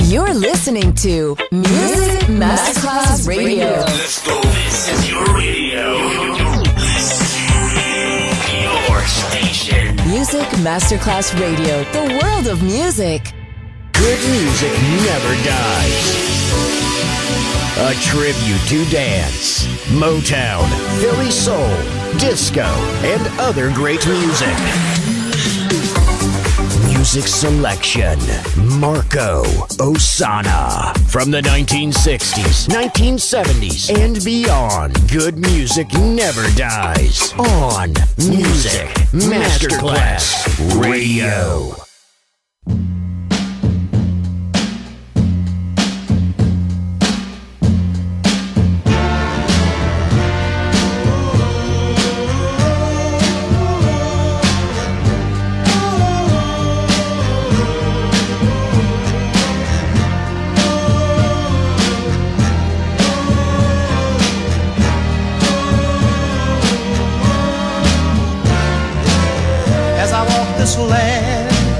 You're listening to Music Masterclass Radio. Let's go. This is your radio. Your station. Music Masterclass Radio. The world of music. Good music never dies. A tribute to dance, Motown, Philly soul, disco, and other great music. Music selection, Marco Ossanna. From the 1960s, 1970s, and beyond, good music never dies. On Music Masterclass Radio. This land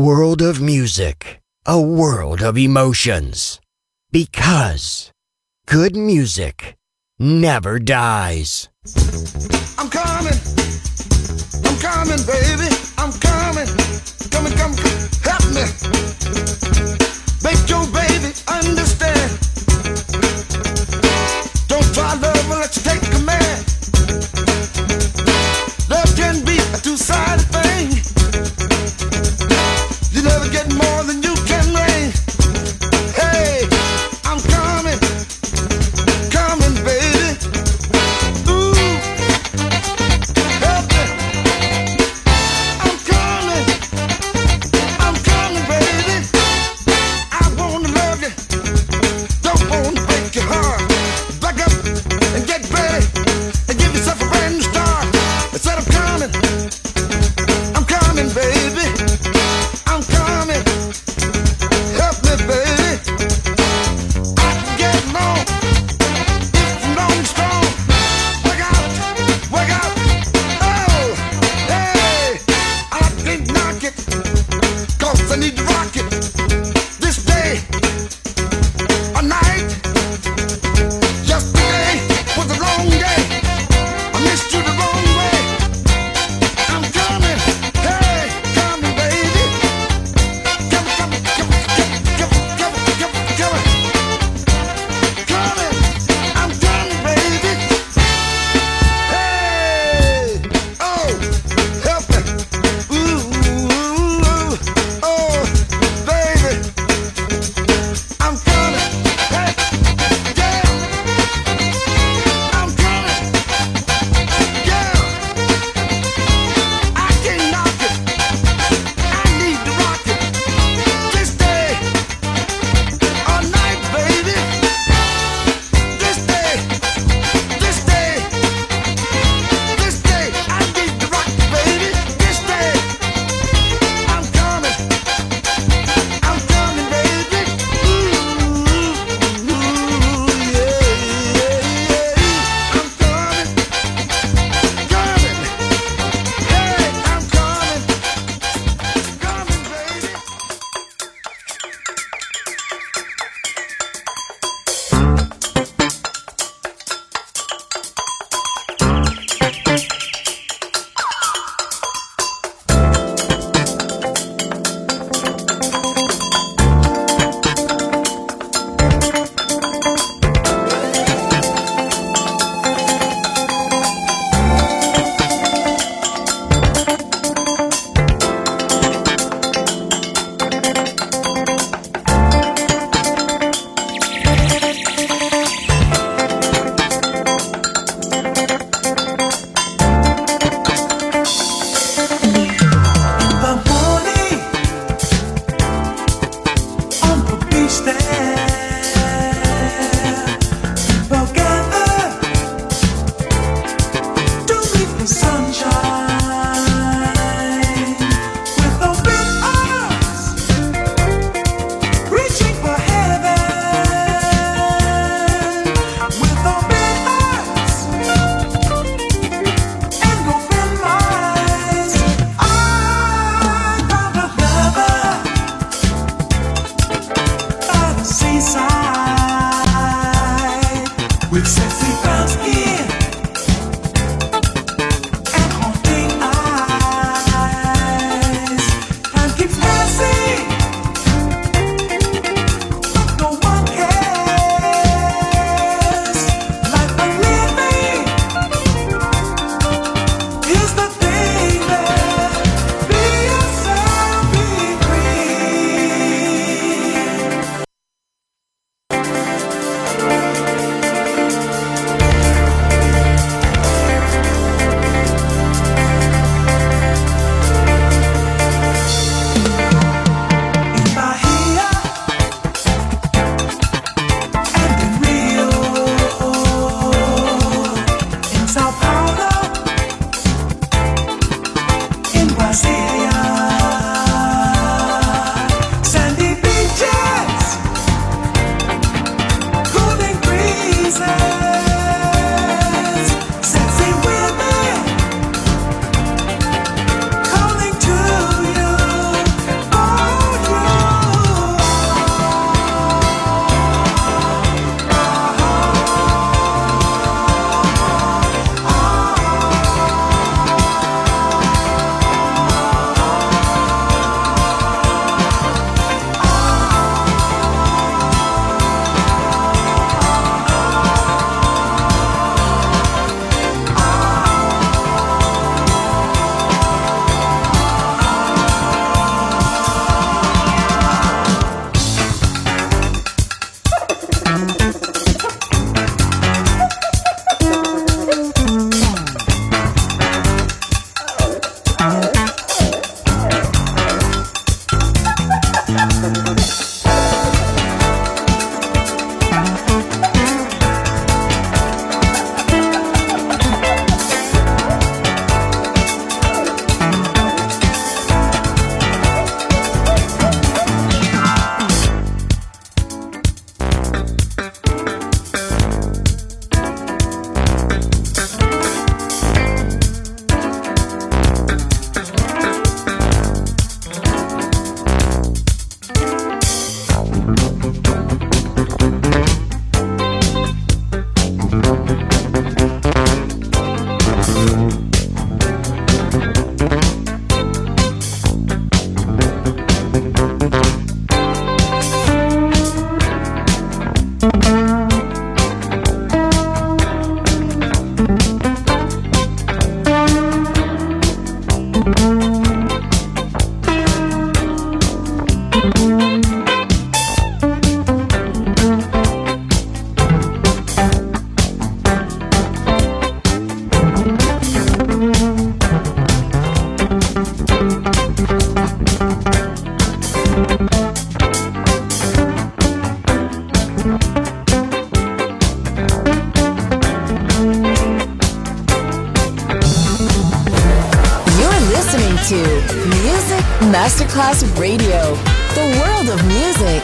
world of music, a world of emotions. Because good music never dies. I'm coming, baby. I'm coming, come, help me. Make your baby understand. Don't try love unless you take command. Love can be a two-sided thing. You never get more than you can bring. Hey, I'm coming, baby. Ooh, help me. I'm coming, baby. I wanna love you, don't wanna break your heart. Back up. to Music Masterclass Radio, the world of music.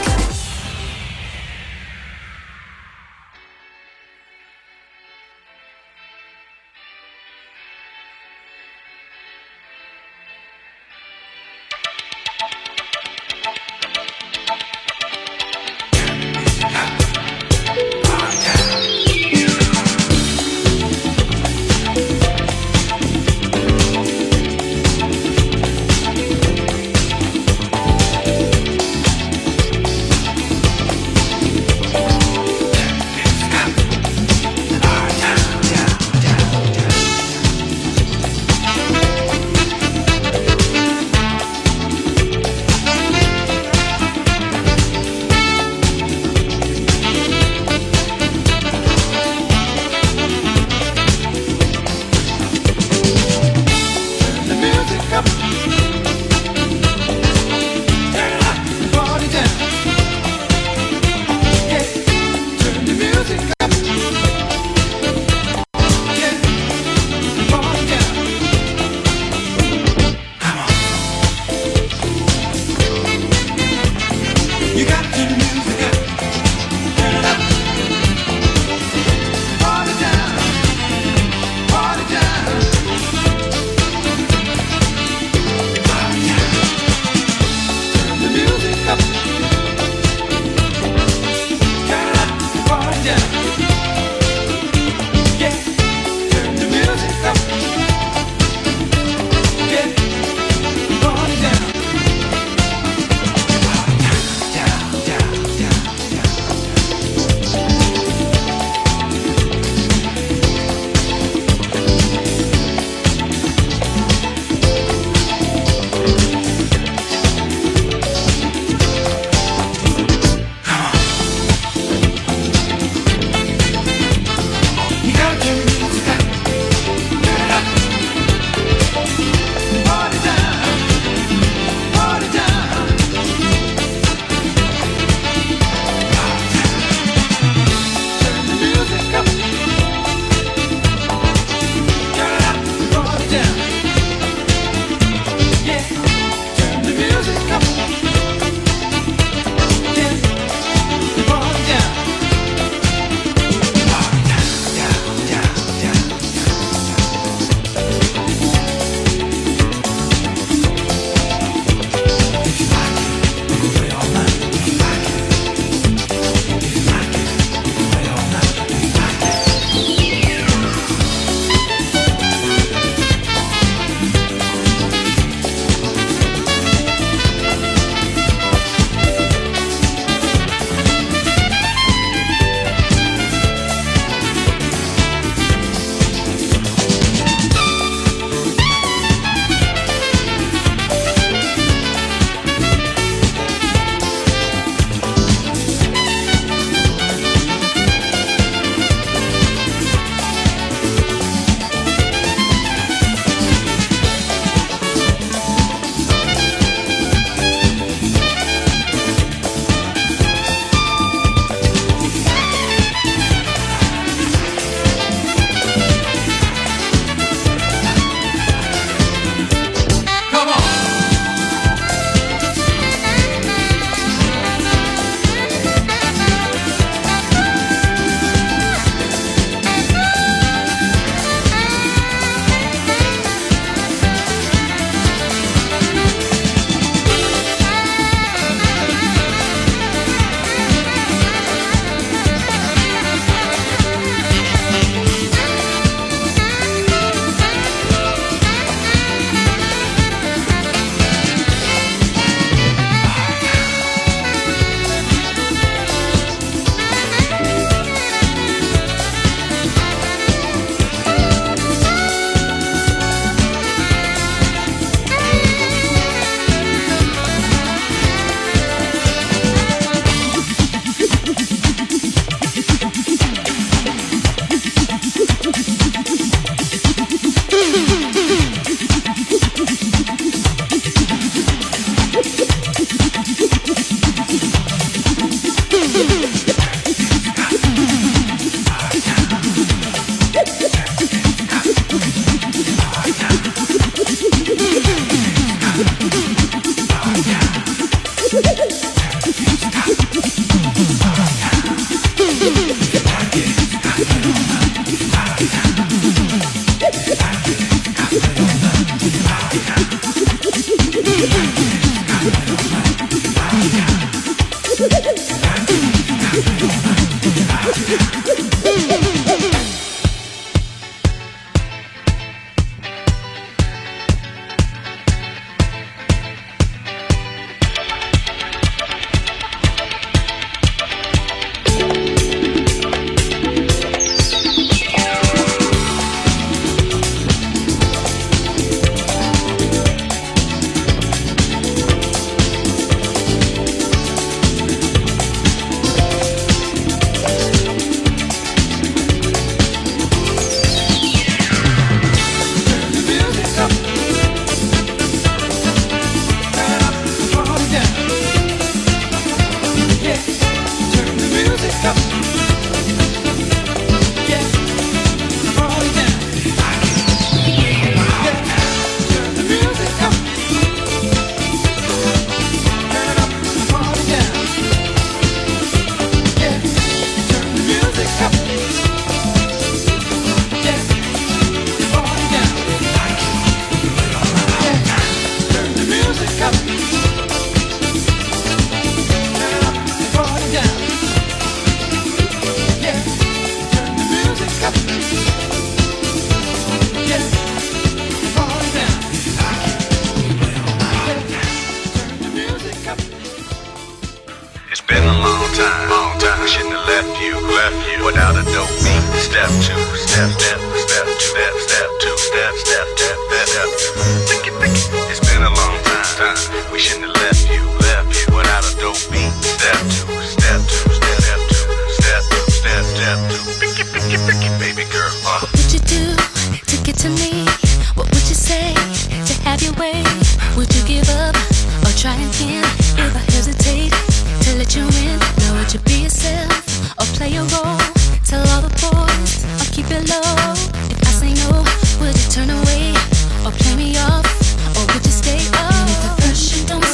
left you without a dope beat. Step 2, step 2, step 2, step 2, step 2. It's been a long time. We shouldn't have left you without a dope beat. Step 2, step 2, step 2, step 2, step 2. Baby girl. What would you do to get to me? What would you say to have your way? Would you give up or try again? If I hesitate to let you in, now would you be yourself or play a role? Tell all the boys or keep it low. If I say no, would you turn away or play me off? Or would you stay up? And if at first you don't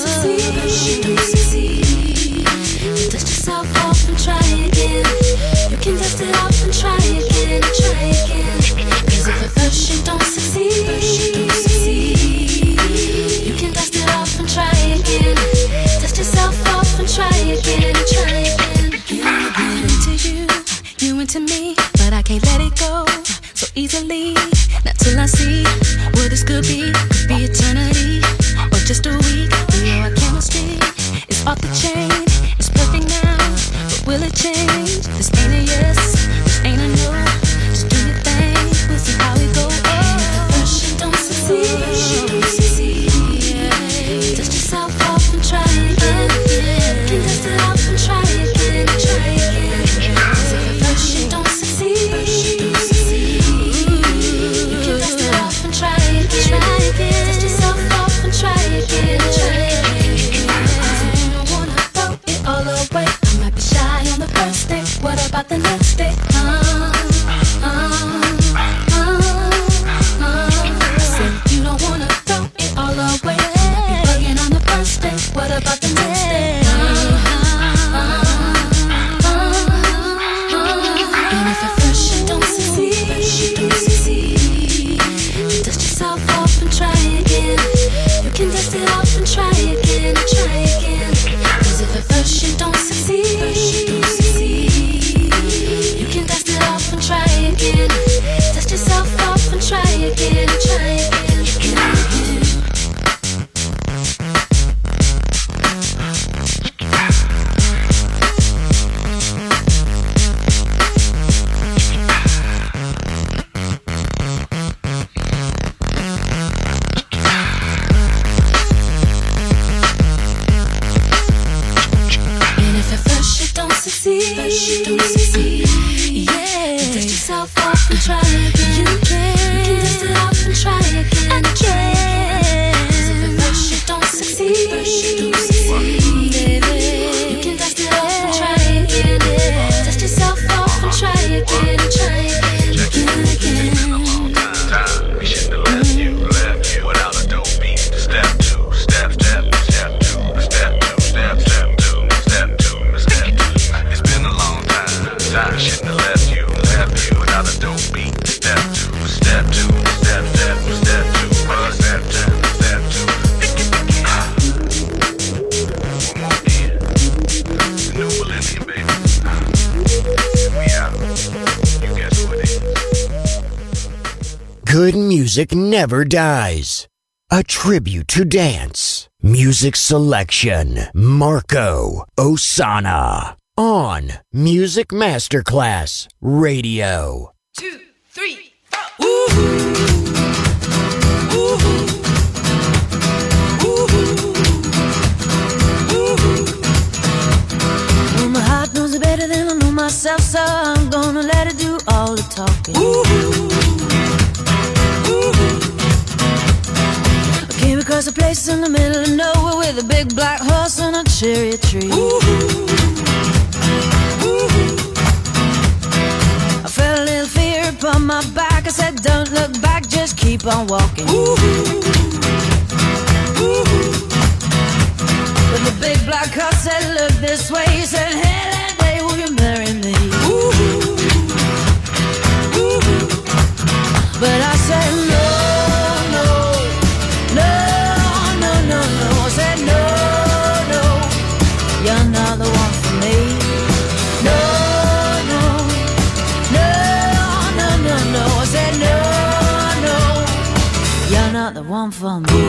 succeed, then dust yourself off and try again. You can dust it off and try again, try again. Cause if at first you don't succeed, you can dust it off and try again. Dust yourself off and try again, try again. I'm into you, you into me, but I can't let it go so easily. Not till I see what this could be eternity or just a week. You know our chemistry is off the chain. It's perfect now, but will it change? This ain't a yes, this ain't a no. Just do your thing, we'll see how it goes. And if at first you don't succeed, dust yourself off and try again. You can dust it off and try again, try again. Cause if at first you don't succeed, you can dust it off and try again, try again. Dust yourself off and try again, try again. Cause if you don't wanna throw it all away, I might be shy on the first day. What about the next day? Said you don't wanna throw it all away. Might be bugging on the first day. What about the next day? And if at first you don't succeed, then dust yourself off and try again. You can dust it off and try again, try again. Cause if at first you don't succeed, you can dust it off and try again. Dust yourself off and try again, try again. And if at first you don't succeed, yeah, dust yourself off and try again. You can dust it off and try again, try again. Cause if at first you don't succeed, you can dust it off and try again. Dust yourself off and try again, try again, again. We shouldn't have left you without a dope beat. Step 2, step 2, step 2, step 2, step 2, step 2, step 2. It's been a long time. We shouldn't have left you without a dope beat. Step 2, step 2, step 2, step 2, step 2, step 2. One more again. The new millennium, baby. We out. You guess what it is. Good music never dies. A tribute to dance. Music selection. Marco Ossanna. On Music Masterclass Radio. 2, 3, 4. Ooh. Well, my heart knows it better than I know myself, so I'm gonna let it do all the talking. I came across a place in the middle of nowhere with a big black horse and a cherry tree. I felt a little fear upon my back. I said, don't look back, just keep on walking. But the big black horse said, look this way. He said, hey, that day, will you marry me? But I said, no, no, no, no, no, no. I said, no, no, you're not the one for me. No, no, no, no, no, no. I said, no, no, you're not the one for me.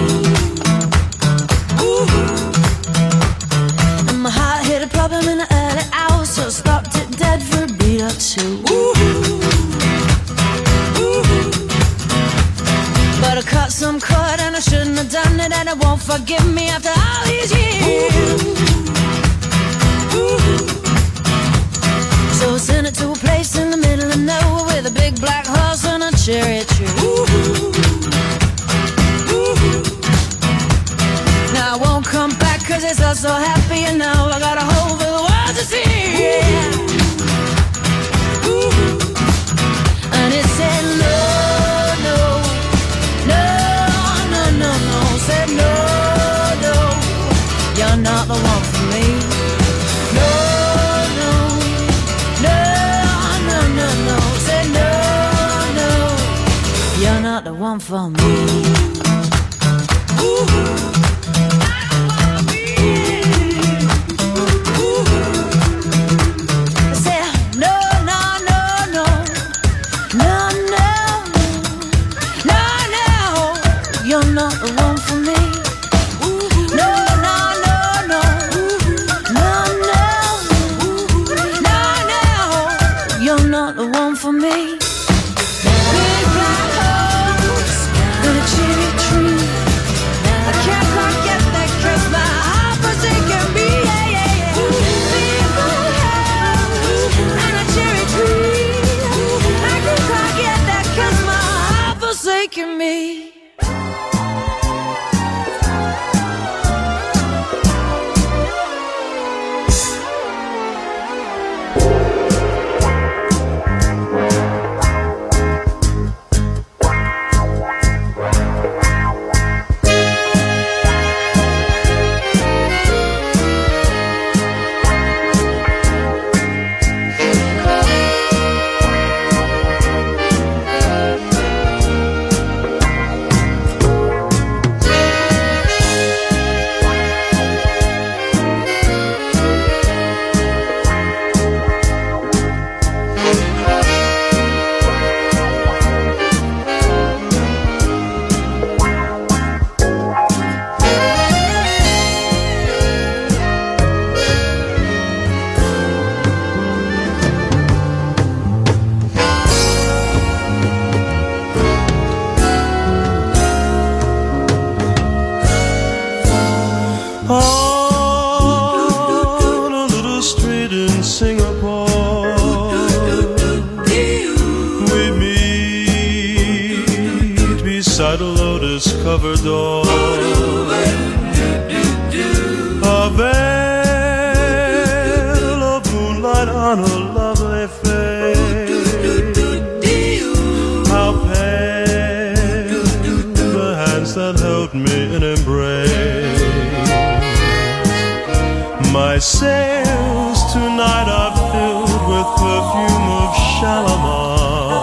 And my heart hit a problem in the early hours, so stopped it dead for a beat. be up to. But I cut some cord and I shouldn't have done it, and it won't forgive me after all these years. So I sent it to a place in the middle of nowhere with a big black horse and a cherry tree. Now I won't come back 'cause it's all so happy, and now I got a hole for the world to see. And it said no, no, no, no, no, no. Said no, no, you're not the one for me. No, no, no, no, no, no. Said no, no, you're not the one for me. Covered door, a veil of moonlight on her lovely face. How pale the hands that held me in embrace. My sails tonight are filled with perfume of Shalimar,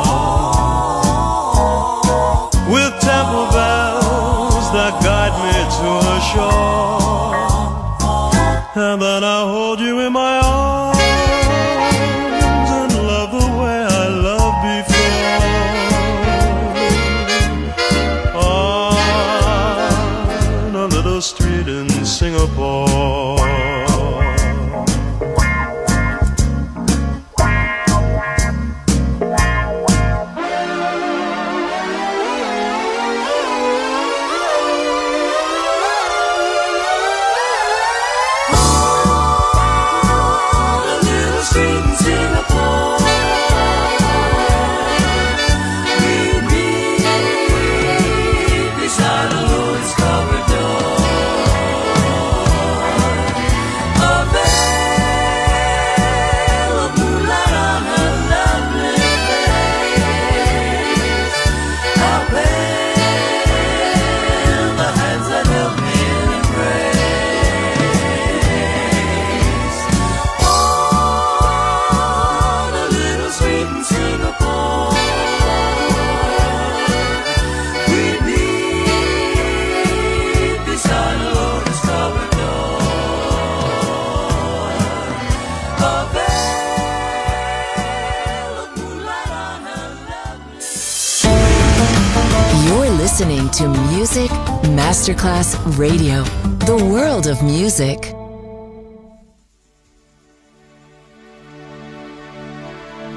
with temple bells that guide me to her shore. And then I hold you in my arms and love the way I loved before. On a little street in Singapore. Listening to Music Masterclass Radio, the world of music.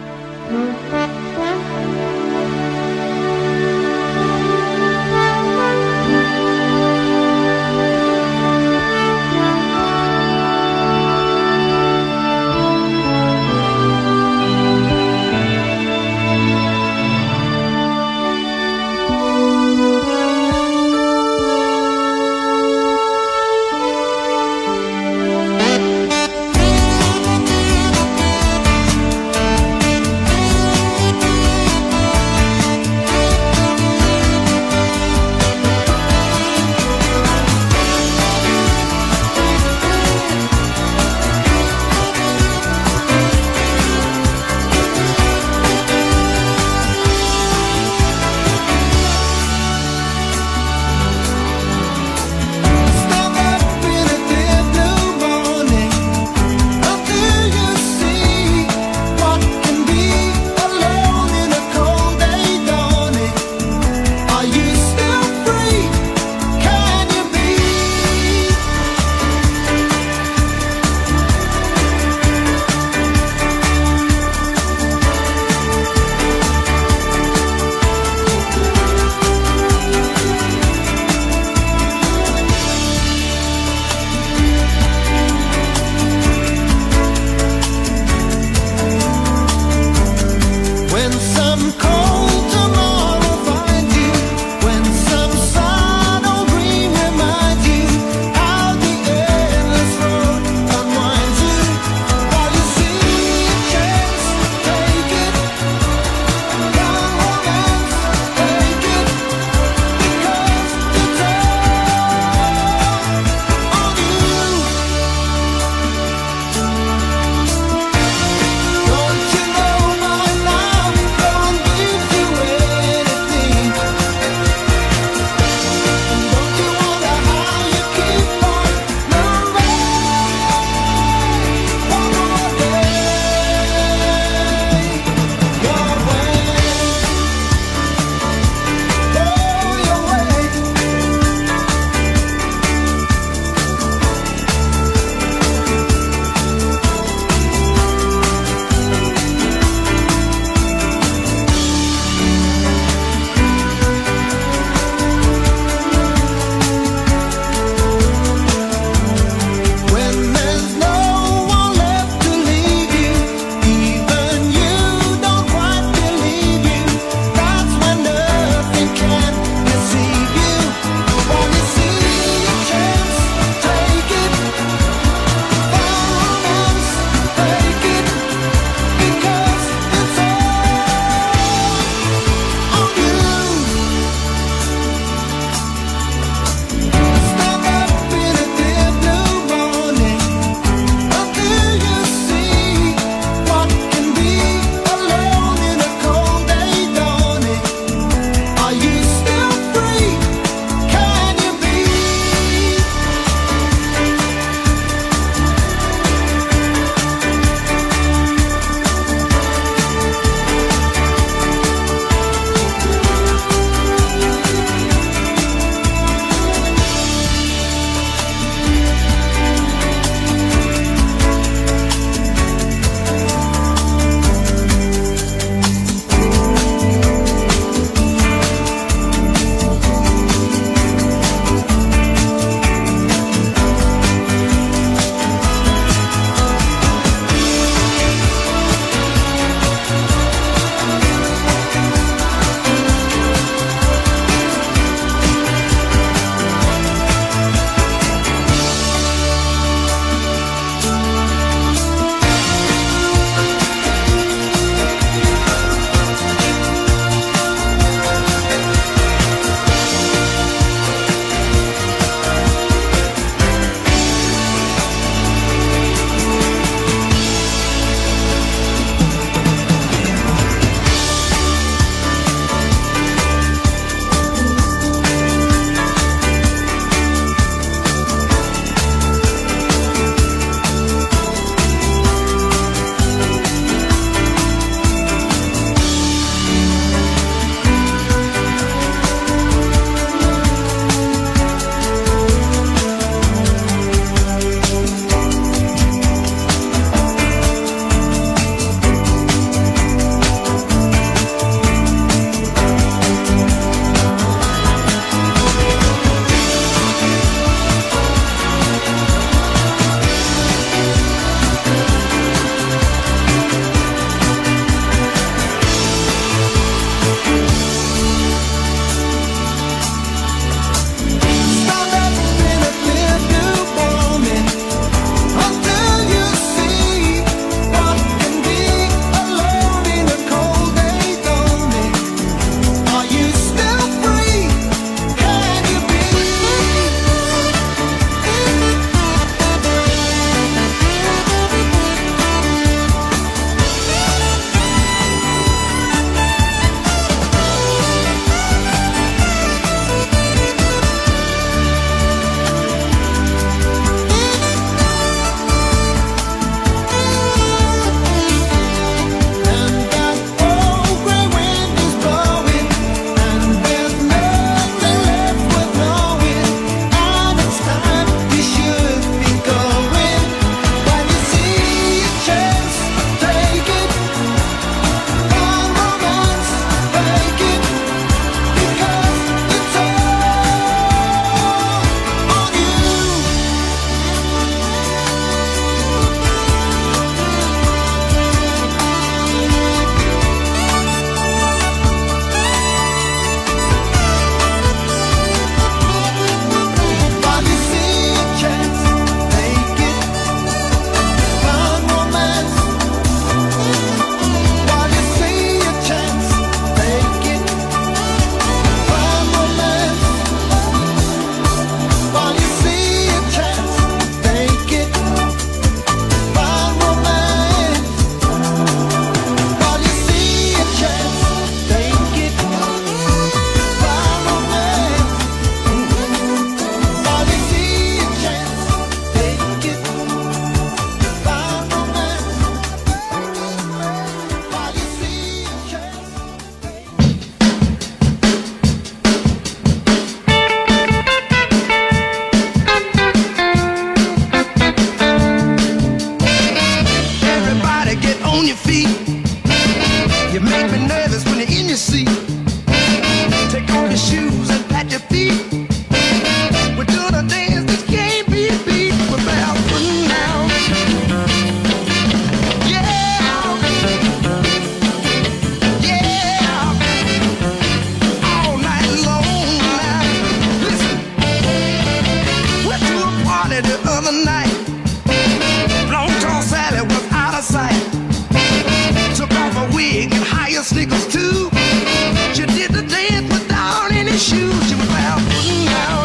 shoes, you were barefooting out.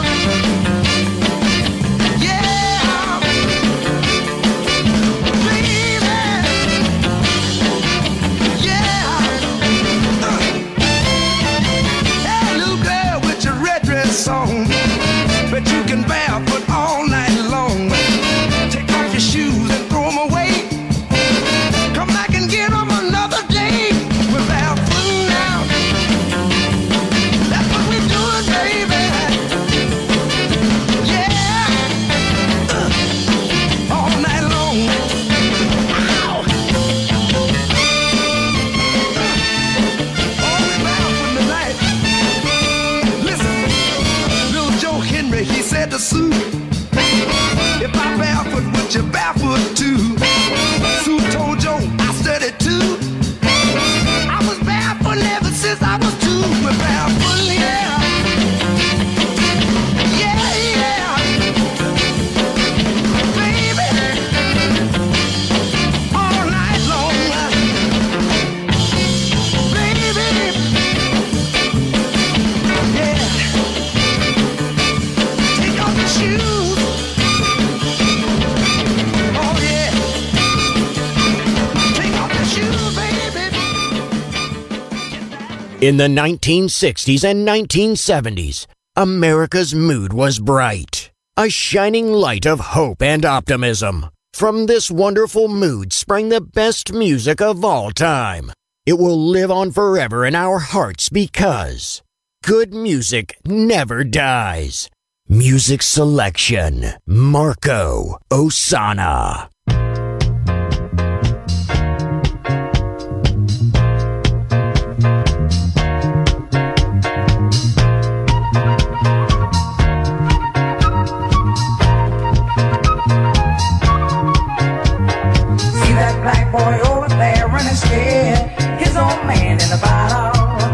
Yeah, baby. Yeah. Hey, little girl with your red dress on, but you can barefoot all night long. Take off your shoes and throw them away. Come back and get them another day. We're barefooting out. That's what we're doing, baby. Yeah. All night long. Ow. Oh, we're barefooting tonight. Listen, little Joe Henry, he said to Sue, if I'm barefoot, would you barefoot too? Sue told Joe, I studied too. I was barefoot ever since I was two. We're barefoot, yeah. Yeah, yeah. Baby, all night long. Baby, yeah. Take off your shoes. Oh yeah. Take off your shoes, baby. In the 1960s and 1970s, America's mood was bright, a shining light of hope and optimism. From this wonderful mood sprang the best music of all time. It will live on forever in our hearts because good music never dies. Music selection, Marco Ossanna. See that black boy over there running scared, his old man in the bottle.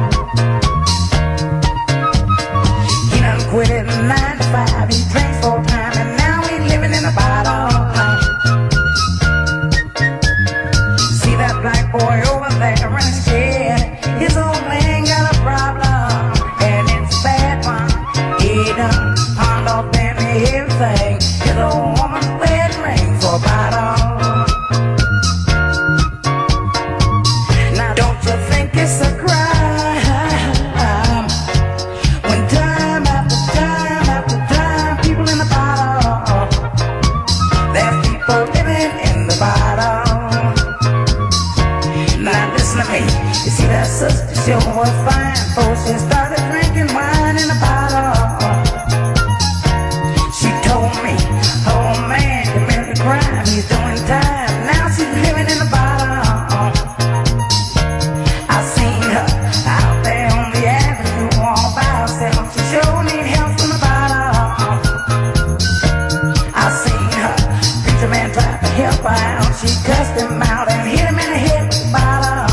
He done quit it in 9 to 5, he drinks full time and now he living in a bottle. See that black boy over there running scared, his old man got a problem, and it's a bad one. He done pawned off damn everything, his old woman's wedding ring for a bottle. Now don't you think it's a crime when time after time after time people in the bottle, there's people living in the bottle. Now listen to me, you see that sister, she was fine before she started drinking wine in the bottle. She told me, oh man, committed a crime, he's doing time, now she's living in the bottle. I seen her out there on the avenue all by herself. She sure need help from the bottom. I seen her, preacher man tried to help her out. She cussed him out and hit him in the head with the bottle.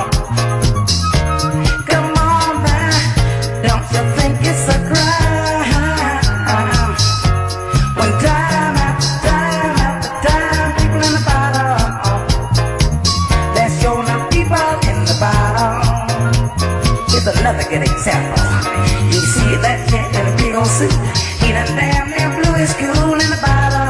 Come on now, don't you think it's a crime when time after time after time people in the bottle, there's sure enough people in the bottle. Here's another good example. You see that kid in a big old suit, he done damn near blew his cool in the bottle.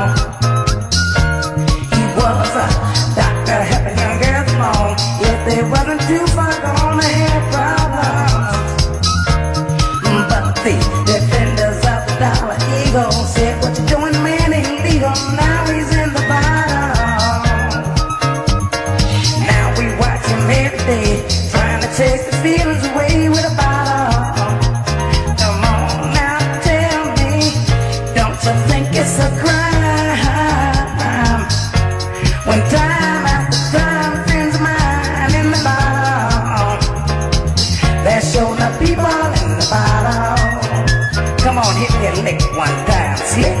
He was a doctor helping young girls along. If they wasn't too far gone, they had problems. But the defenders of the Dollar Eagle said, what you doing, man, illegal. Now he's in the bottle. Now we watch him every day, trying to chase the feelings away with a bottle. Come on now, tell me, don't you think it's a crime when time after time friends of mine in the bottle, there's sure enough people in the bottle. Come on, hit me a lick one time, slick.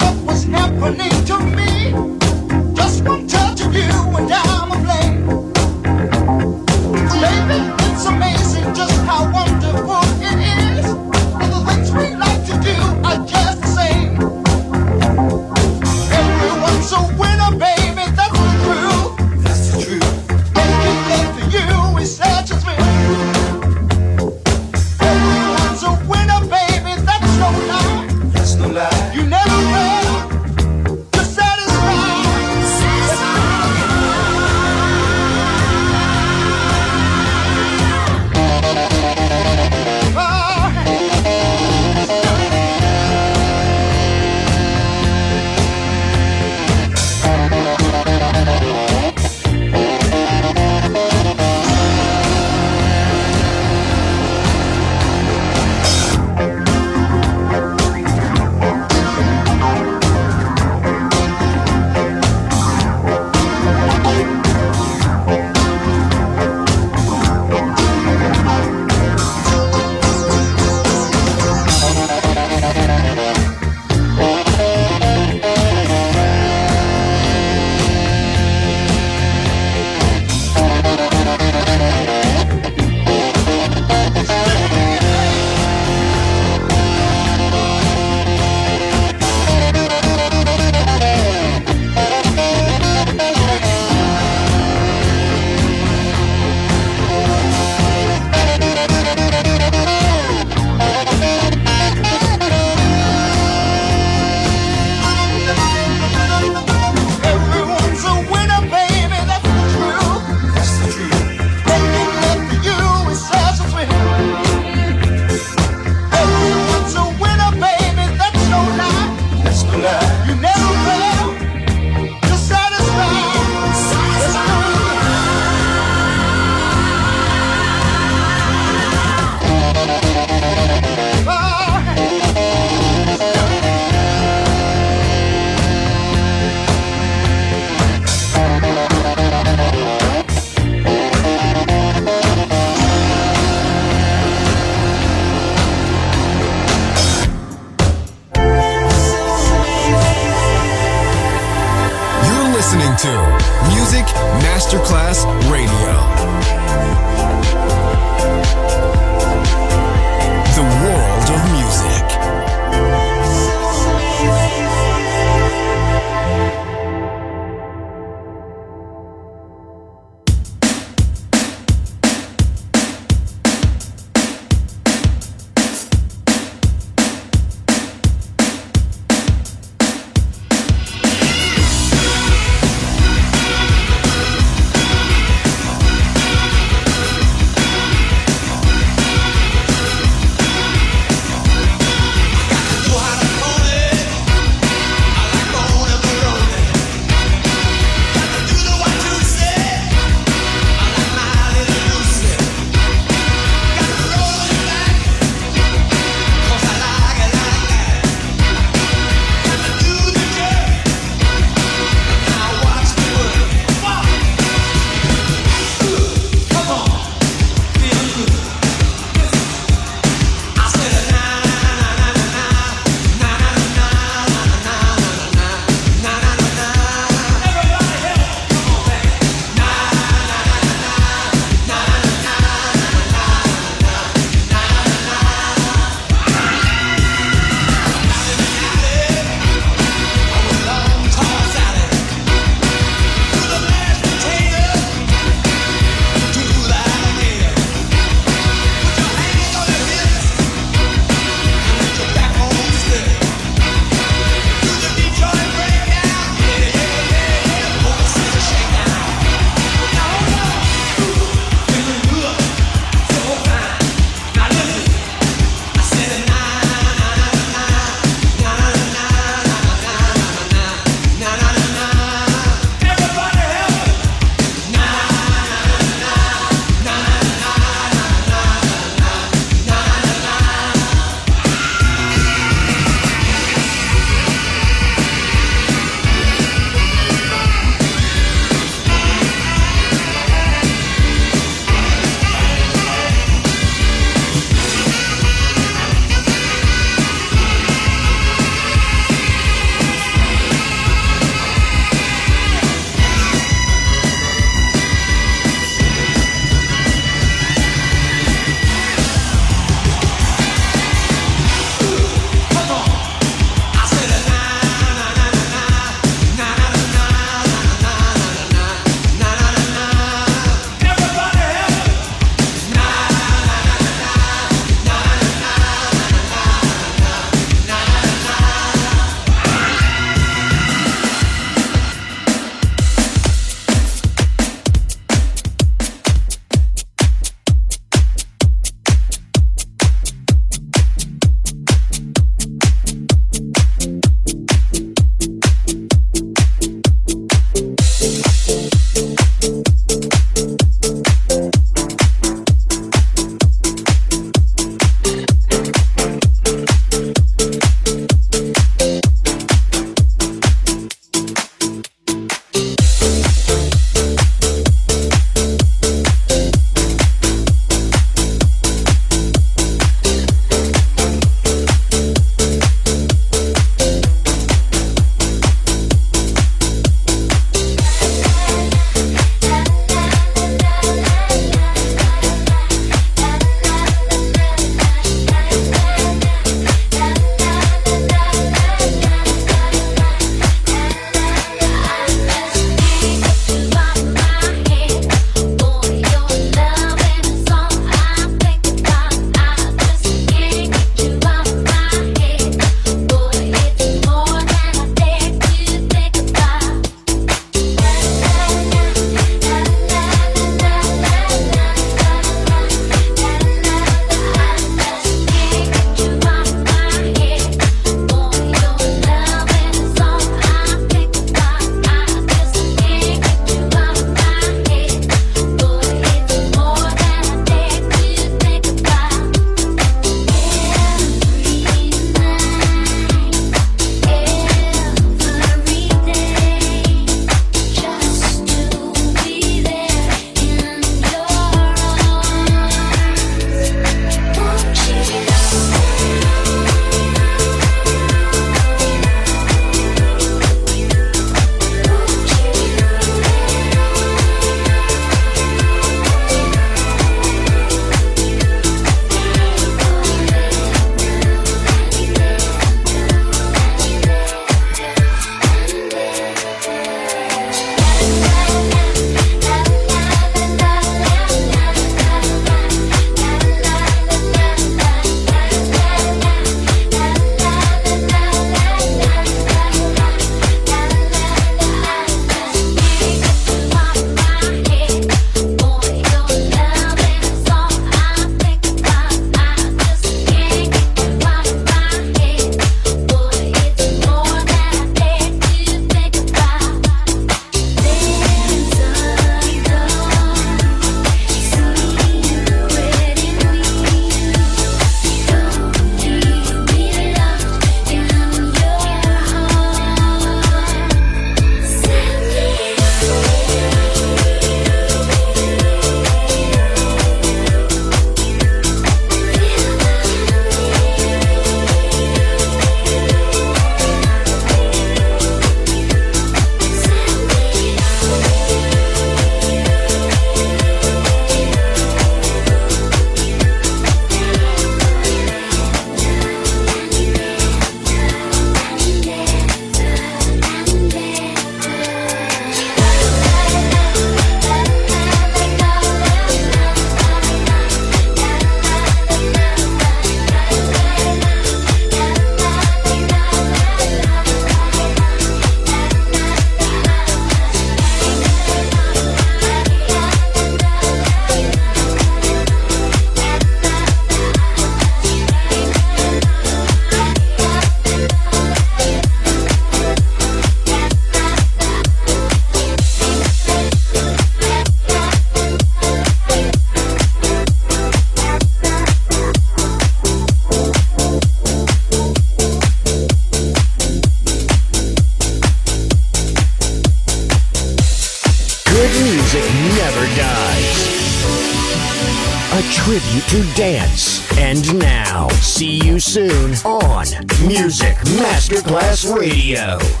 music never dies. A tribute to dance. And now, see you soon on Music Masterclass Radio.